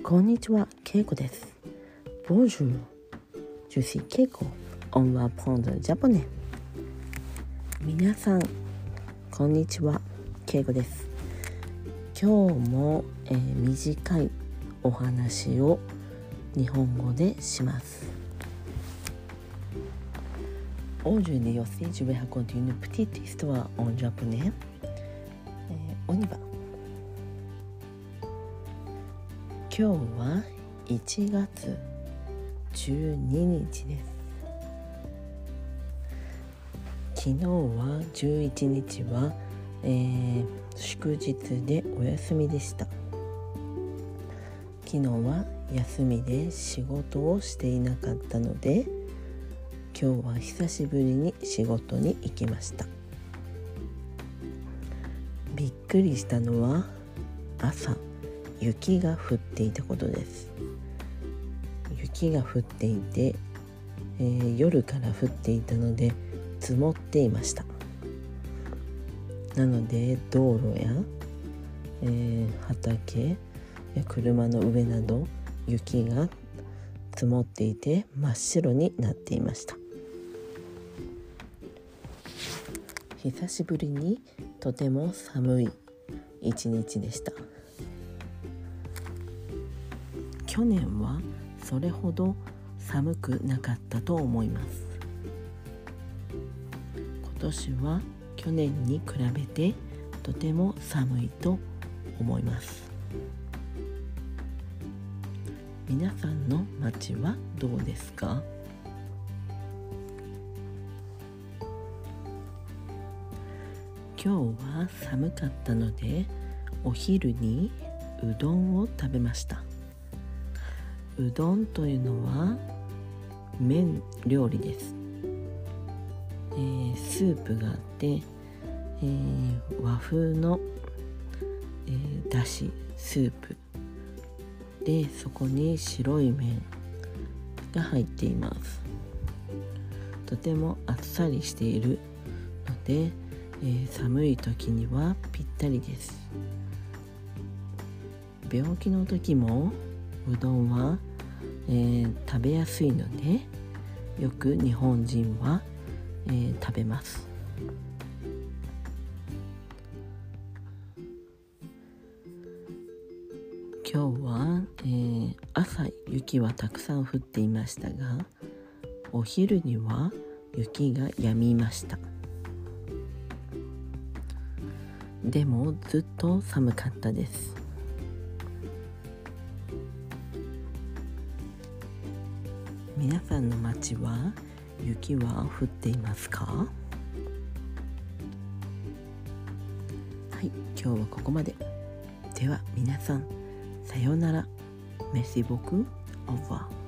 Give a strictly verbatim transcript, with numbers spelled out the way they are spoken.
こんにちは、ケイコです。Bonjour, je suis Keiko. On va apprendre le japonais. 皆さん、こんにちは、ケイコです。今日も、えー、短いお話を日本語でします。Aujourd'hui aussi, je vais raconter une petite histoire en japonais. On y va.今日はいちがつじゅうににちです。昨日はじゅういちにちは、えー、祝日でお休みでした。昨日は休みで仕事をしていなかったので、今日は久しぶりに仕事に行きました。びっくりしたのは朝雪が降っていたことです。雪が降っていて、えー、夜から降っていたので積もっていました。なので道路や、えー、畑や車の上など雪が積もっていて真っ白になっていました。久しぶりにとても寒い一日でした。去年はそれほど寒くなかったと思います。今年は去年に比べてとても寒いと思います。皆さんの街はどうですか？今日は寒かったのでお昼にうどんを食べました。うどんというのは麺料理です。えー、スープがあって、えー、和風の、えー、だしスープで、そこに白い麺が入っています。とてもあっさりしているので、えー、寒い時にはぴったりです。病気の時もうどんは、えー、食べやすいのでよく日本人は、えー、食べます。今日は、えー、朝雪はたくさん降っていましたが、お昼には雪が止みました。でもずっと寒かったです。皆さんの町は雪は降っていますか？はい、今日はここまで。では皆さん、さようなら。Merci beaucoup. Au revoir.